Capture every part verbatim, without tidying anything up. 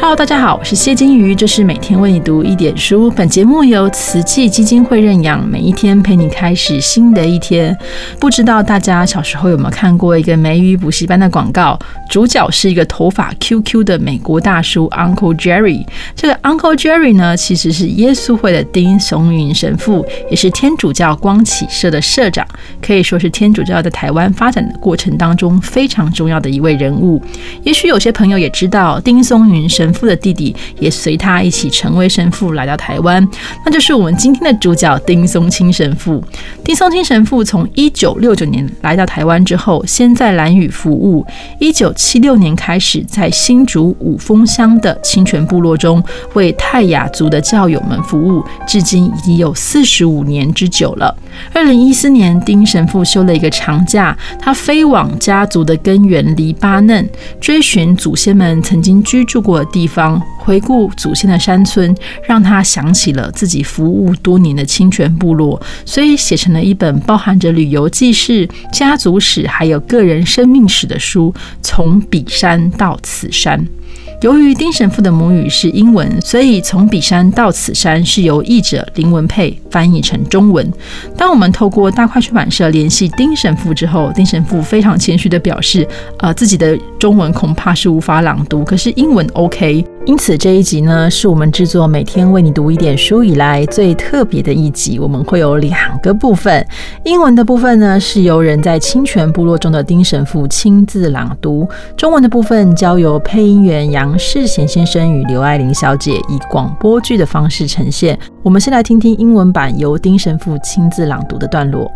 Hello， 大家好，我是谢金鱼，这是每天为你读一点书。本节目由慈济基金会认养，每一天陪你开始新的一天。不知道大家小时候有没有看过一个美语补习班的广告？主角是一个头发 Q Q 的美国大叔 Uncle Jerry。这个 Uncle Jerry 呢，其实是耶稣会的丁松云神父，也是天主教光启社的社长，可以说是天主教在台湾发展的过程当中非常重要的一位人物。也许有些朋友也知道，丁松云神父的弟弟也随他一起成为神父来到台湾，那就是我们今天的主角丁松青神父。丁松青神父从一九六九年来到台湾之后，先在兰屿服务，一九七六年开始在新竹五峰乡的清泉部落中为泰雅族的教友们服务，至今已经有四十五年之久了。二零一四年，丁神父休了一个长假，他飞往家族的根源黎巴嫩，追寻祖先们曾经居住过的地方，回顾祖先的山村，让他想起了自己服务多年的清泉部落，所以写成了一本包含着旅游记事、家族史还有个人生命史的书，从彼山到此山。由于丁神父的母语是英文，所以从彼山到此山是由译者林文佩翻译成中文。当我们透过大块出版社联系丁神父之后，丁神父非常谦虚地表示，呃，自己的中文恐怕是无法朗读，可是英文 OK。因此这一集呢，是我们制作每天为你读一点书以来最特别的一集。我们会有两个部分，英文的部分呢是由人在清泉部落中的丁神父亲自朗读，中文的部分交由配音员杨世贤先生与刘爱玲小姐以广播剧的方式呈现。我们先来听听英文版由丁神父亲自朗读的段落。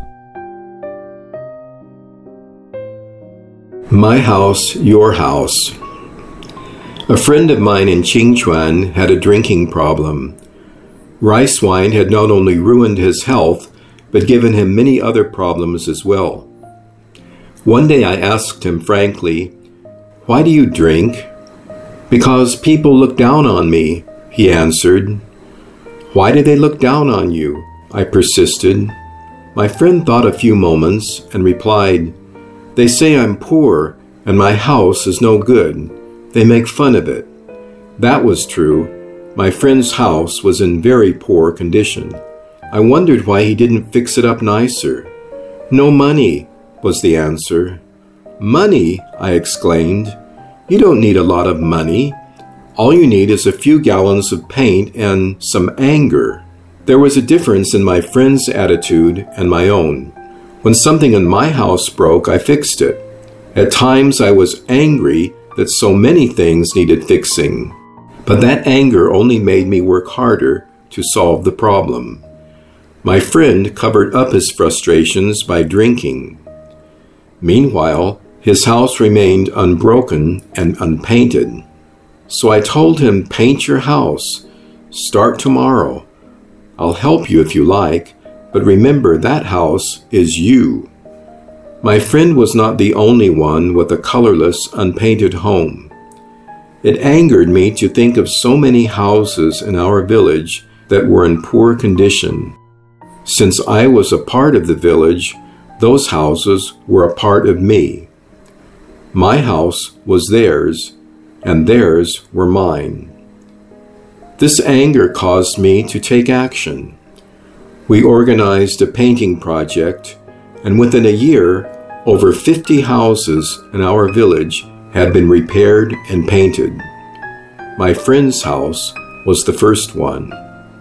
My house, your house.A friend of mine in Qingchuan had a drinking problem. Rice wine had not only ruined his health, but given him many other problems as well. One day I asked him frankly, "Why do you drink?" "Because people look down on me," he answered. "Why do they look down on you?" I persisted. My friend thought a few moments and replied, "They say I'm poor and my house is no good.They make fun of it." That was true. My friend's house was in very poor condition. I wondered why he didn't fix it up nicer. "No money," was the answer. "Money?" I exclaimed. "You don't need a lot of money. All you need is a few gallons of paint and some anger." There was a difference in my friend's attitude and my own. When something in my house broke, I fixed it. At times I was angry,that so many things needed fixing. But that anger only made me work harder to solve the problem. My friend covered up his frustrations by drinking. Meanwhile, his house remained unbroken and unpainted. So I told him, "Paint your house. Start tomorrow. I'll help you if you like, but remember that house is you."My friend was not the only one with a colorless, unpainted home. It angered me to think of so many houses in our village that were in poor condition. Since I was a part of the village, those houses were a part of me. My house was theirs, and theirs were mine. This anger caused me to take action. We organized a painting project,And within a year, over fifty houses in our village had been repaired and painted. My friend's house was the first one.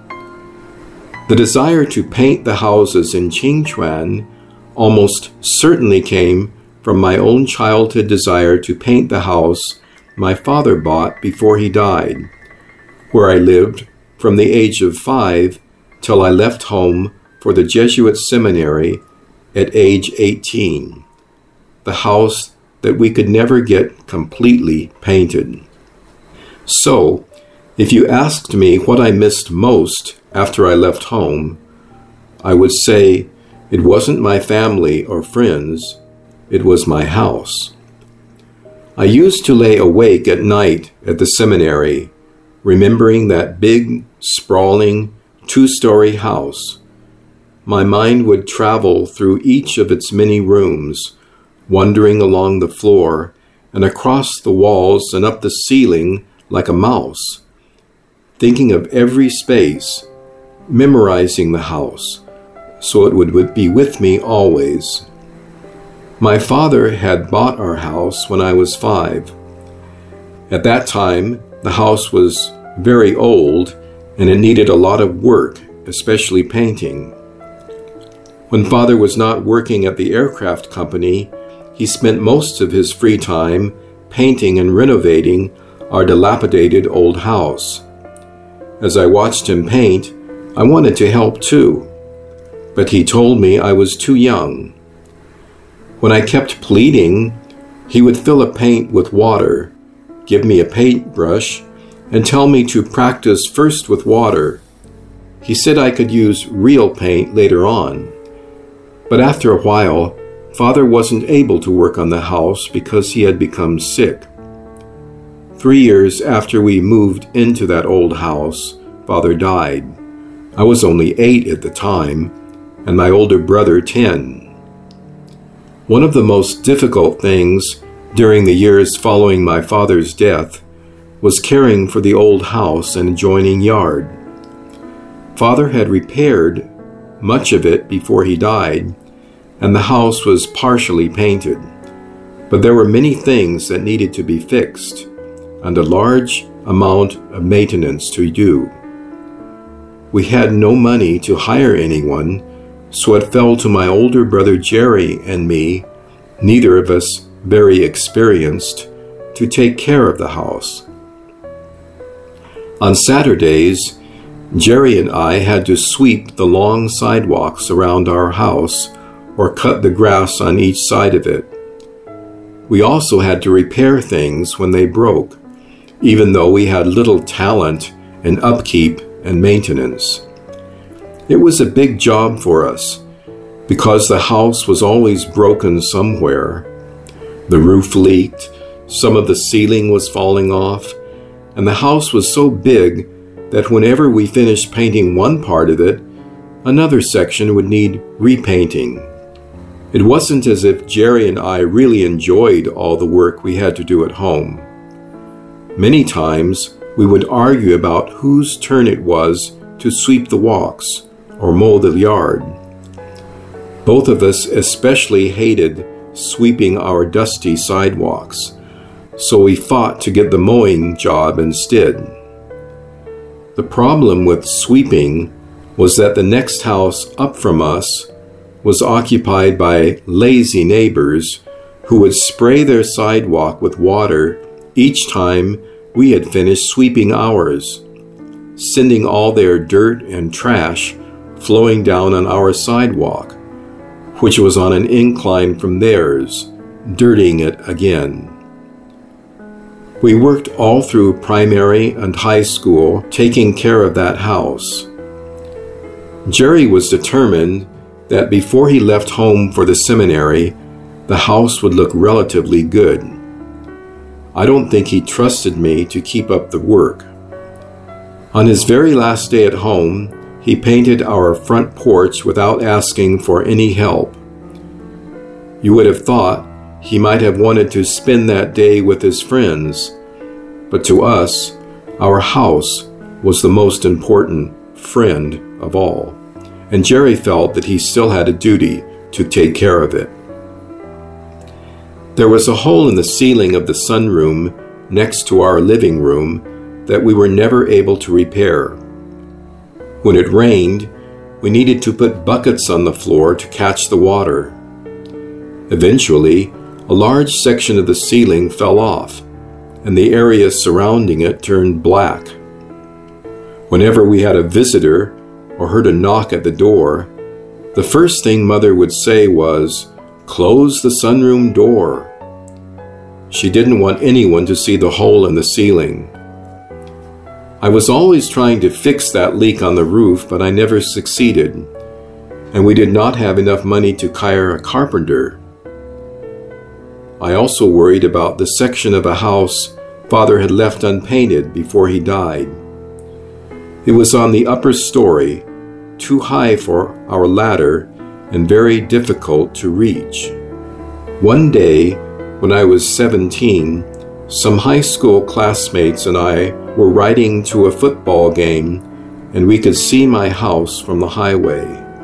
The desire to paint the houses in Qingchuan almost certainly came from my own childhood desire to paint the house my father bought before he died, where I lived from the age of five till I left home for the Jesuit seminary,at age eighteen, the house that we could never get completely painted. So, if you asked me what I missed most after I left home, I would say it wasn't my family or friends, it was my house. I used to lay awake at night at the seminary, remembering that big, sprawling, two-story house.My mind would travel through each of its many rooms, wandering along the floor and across the walls and up the ceiling like a mouse, thinking of every space, memorizing the house, so it would be with me always. My father had bought our house when I was five. At that time, the house was very old and it needed a lot of work, especially painting. When Father was not working at the aircraft company, he spent most of his free time painting and renovating our dilapidated old house. As I watched him paint, I wanted to help too, but he told me I was too young. When I kept pleading, he would fill a paint with water, give me a paintbrush, and tell me to practice first with water. He said I could use real paint later on. But after a while, Father wasn't able to work on the house because he had become sick. Three years after we moved into that old house, Father died. I was only eight at the time, and my older brother ten. One of the most difficult things during the years following my father's death was caring for the old house and adjoining yard. Father had repaired much of it before he died, and the house was partially painted, but there were many things that needed to be fixed, and a large amount of maintenance to do. We had no money to hire anyone, so it fell to my older brother Jerry and me, neither of us very experienced, to take care of the house. On Saturdays, Jerry and I had to sweep the long sidewalks around our house or cut the grass on each side of it. We also had to repair things when they broke, even though we had little talent in upkeep and maintenance. It was a big job for us because the house was always broken somewhere. The roof leaked, some of the ceiling was falling off, and the house was so big that whenever we finished painting one part of it, another section would need repainting. It wasn't as if Jerry and I really enjoyed all the work we had to do at home. Many times, we would argue about whose turn it was to sweep the walks or mow the yard. Both of us especially hated sweeping our dusty sidewalks, so we fought to get the mowing job instead. The problem with sweeping was that the next house up from us was occupied by lazy neighbors who would spray their sidewalk with water each time we had finished sweeping ours, sending all their dirt and trash flowing down on our sidewalk, which was on an incline from theirs, dirtying it again. We worked all through primary and high school taking care of that house. Jerry was determined that before he left home for the seminary, the house would look relatively good. I don't think he trusted me to keep up the work. On his very last day at home, he painted our front porch without asking for any help. You would have thought he might have wanted to spend that day with his friends, but to us, our house was the most important friend of all, and Jerry felt that he still had a duty to take care of it. There was a hole in the ceiling of the sunroom next to our living room that we were never able to repair. When it rained, we needed to put buckets on the floor to catch the water. Eventually, a large section of the ceiling fell off, and the area surrounding it turned black. Whenever we had a visitor or heard a knock at the door, the first thing Mother would say was, "Close the sunroom door." She didn't want anyone to see the hole in the ceiling. I was always trying to fix that leak on the roof, but I never succeeded, and we did not have enough money to hire a carpenter. I also worried about the section of a house Father had left unpainted before he died. It was on the upper story, too high for our ladder and very difficult to reach. One day, when I was seventeen, Some high school classmates and I were riding to a football game, and we could see my house from the highway.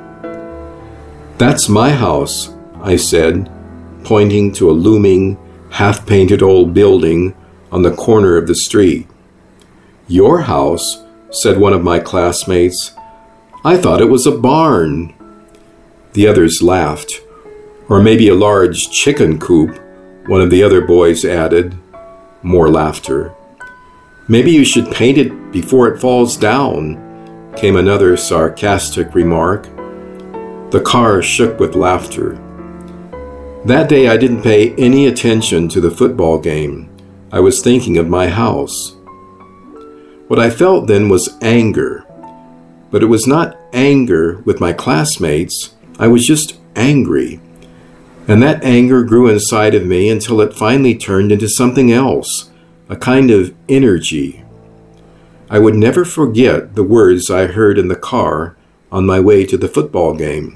"That's my house," I said, pointing to a looming, half-painted old building on the corner of the street. "Your house?" said one of my classmates. "I thought it was a barn." The others laughed. "Or maybe a large chicken coop," one of the other boys added. More laughter. "Maybe you should paint it before it falls down," came another sarcastic remark. The car shook with laughter. That day I didn't pay any attention to the football game. I was thinking of my house. What I felt then was anger. But it was not anger with my classmates. I was just angry. And that anger grew inside of me until it finally turned into something else, a kind of energy. I would never forget the words I heard in the car on my way to the football game.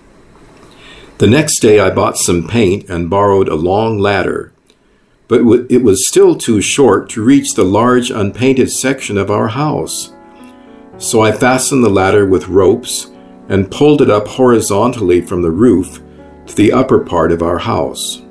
The next day I bought some paint and borrowed a long ladder, but it was still too short to reach the large unpainted section of our house. So I fastened the ladder with ropes and pulled it up horizontally from the roof to the upper part of our house.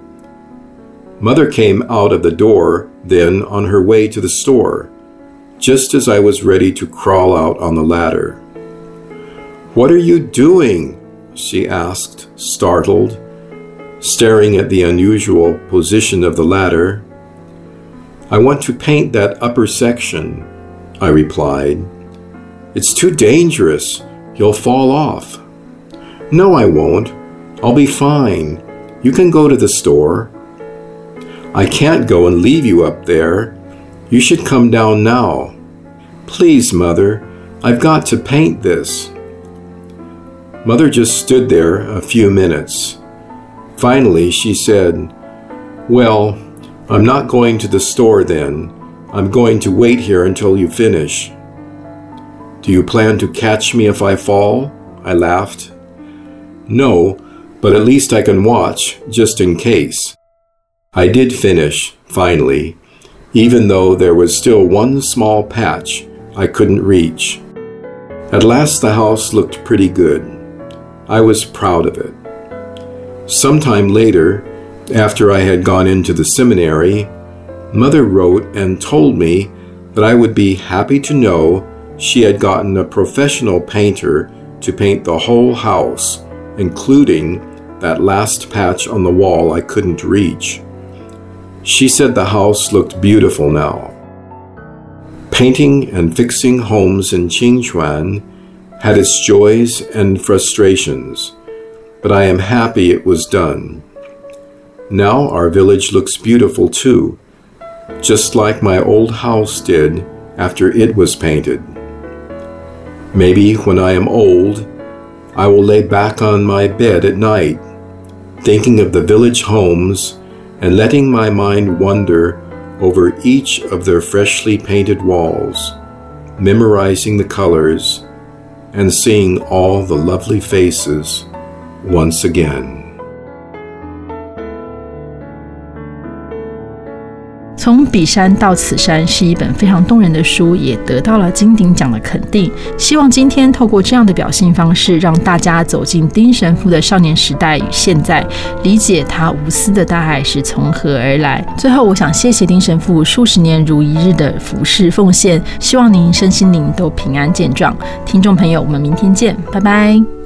Mother came out of the door then on her way to the store, just as I was ready to crawl out on the ladder. "What are you doing?" she asked, startled, staring at the unusual position of the ladder. "I want to paint that upper section," I replied. "It's too dangerous. You'll fall off." "No, I won't. I'll be fine. You can go to the store." "I can't go and leave you up there. You should come down now." "Please, Mother, I've got to paint this." Mother just stood there a few minutes. Finally, she said, "Well, I'm not going to the store then. I'm going to wait here until you finish." "Do you plan to catch me if I fall?" I laughed. "No, but at least I can watch, just in case." I did finish, finally, even though there was still one small patch I couldn't reach. At last the house looked pretty good. I was proud of it. Sometime later, after I had gone into the seminary, Mother wrote and told me that I would be happy to know she had gotten a professional painter to paint the whole house, including that last patch on the wall I couldn't reach. She said the house looked beautiful now. Painting and fixing homes in Qingchuan had its joys and frustrations, but I am happy it was done. Now our village looks beautiful too, just like my old house did after it was painted. Maybe when I am old, I will lay back on my bed at night, thinking of the village homes and letting my mind wander over each of their freshly painted walls, memorizing the colors and seeing all the lovely faces once again. 从彼山到此山是一本非常动人的书，也得到了金鼎奖的肯定。希望今天透过这样的表现方式，让大家走进丁神父的少年时代与现在，理解他无私的大爱是从何而来。最后，我想谢谢丁神父数十年如一日的服侍奉献，希望您身心灵都平安健壮。听众朋友，我们明天见，拜拜。